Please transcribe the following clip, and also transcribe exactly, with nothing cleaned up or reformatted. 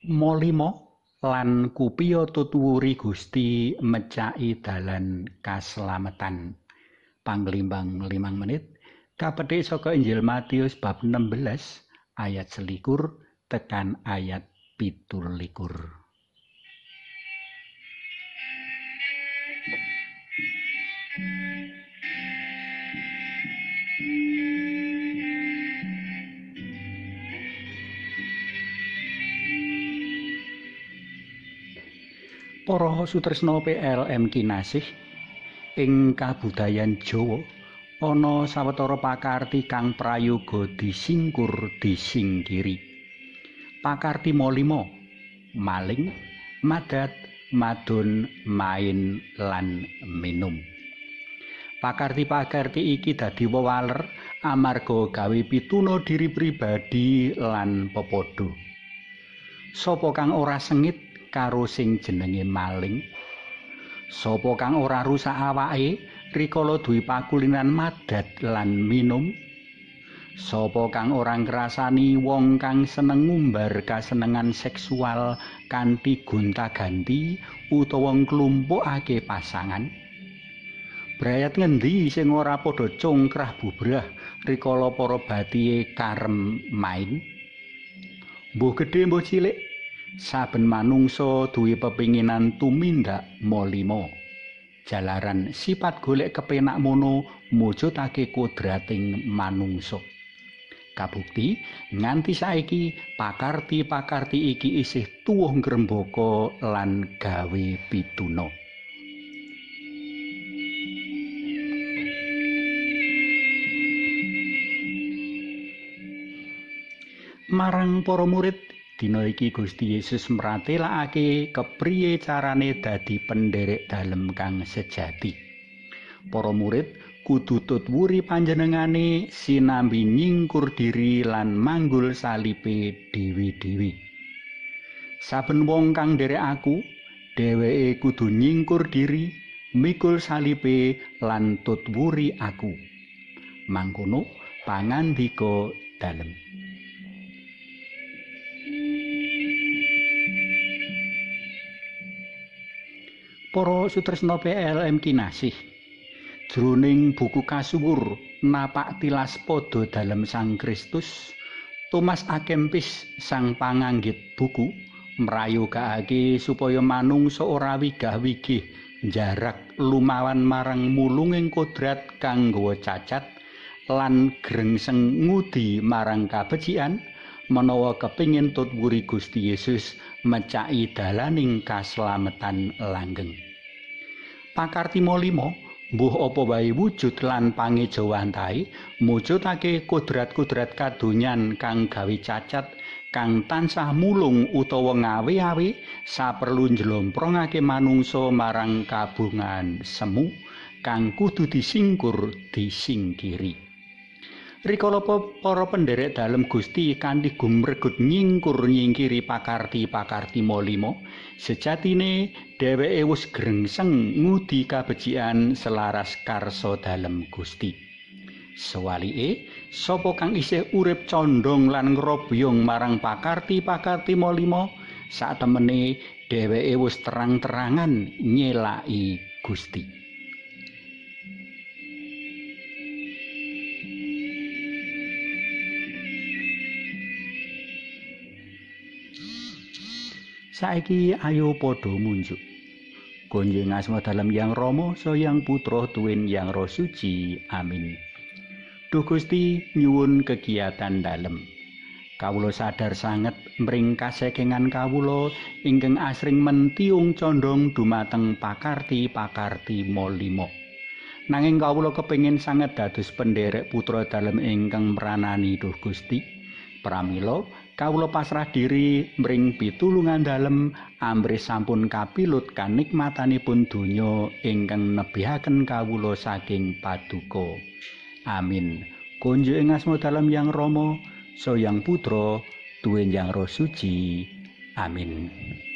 Molimo lan kupiya tutuwuri Gusti mecaki dalan kaslametan. Panglimbang limang menit kapethik saka Injil Matius bab enam belas ayat selikur tekan ayat pitu likur. Para sutresna P L M kinasih, ing kabudayan Jawa ana sawetara pakarti kang prayoga disingkur disingkiri. Pakarti molimo, maling, madat, madon, main lan minum. Pakarti-pakarti iki dadi wewaler amarga gawe pituna diri pribadi lan pepodo. Sapa kang ora sengit karo sing jenenge maling? Sapa kang ora rusak awake rikala duwe pakulinan madat lan minum? Sapa kang ora ngrasani wong kang seneng ngumbar kasenengan seksual kanthi gonta-ganti utawa nglumpukake pasangan? Brayat ngendi sing ora padha congkrah bubrah rikala para batihe karem main? Mbuh gedhe mbuh cilik, saben manungsa duwe pepinginan tumindak molimo. Jalaran sifat golek kepenak mono mujudake kodrating manungsa. Kabukti nganti saiki pakarti-pakarti iki isih tuwuh ngrembaka lan gawe pituna. Marang para murid dina iki Gusti Yesus mratelakake kepriye carane dadi penderek dalem kang sejati. Para murid kudu tutwuri panjenengane sinambi nyingkur diri lan manggul salipe dewi-dewi. Saben wong kang nderek aku, dheweke kudu nyingkur diri, mikul salipe lan tutwuri aku. Mangkono pangandika dalem. Para sutresna P L M kinasih, jroning buku kasuwur napak tilas pada dalem Sang Kristus, Thomas A. Kempis sang panganggit buku mrayogakake supaya manungsa ora wigah-wigih njarak lumawan marang mulunging kodrat kang nggawa cacat lan grengseng ngudi marang kabecikan menawa kepingin tutwuri Gusti Yesus mecaki dalaning kaslametan langgeng. Pakarti molimo mbuh apa wae wujud lan pangejawantahe mujudake kodrat-kodrat kadonyan kang gawe cacat kang tansah mulung utawa ngawe-awe saperlu njlomprongake manungsa marang kabungan semu kang kudu disingkur disingkiri. Rikala para penderek dalem Gusti kanthi gumregut nyingkur nyingkiri pakarti-pakarti molimo, sejatine dheweke wis grengseng ngudi kabecikan selaras karsa dalem Gusti. Sewalike, sapa kang isih urip condong lan ngrobyong marang pakarti-pakarti molimo, satemene dheweke wis terang-terangan nyelaki Gusti. Saiki ayo padha munjuk. Konjing asma dalem Yang Rama Sang Putra tuwin Yang Roh Suci. Amin. Duh Gusti nyuwun kegiatan dalem. Kawula sadar sanget mring kasakengan kawula ingkang asring mentiung condong dumateng pakarti-pakarti molimo. Nanging kawula kepengin sanget dados penderek putra dalem ingkang mranani Duh Gusti. Pramila kawula pasrah diri mring pitulungan dalem ambrih sampun kapilut kanikmatanipun donya ingkang nebihaken kawula saking paduka. Amin. Kunjuk ing asma dalem Yang Rama Sang Putra tuwin Yang Roh Suci. Amin.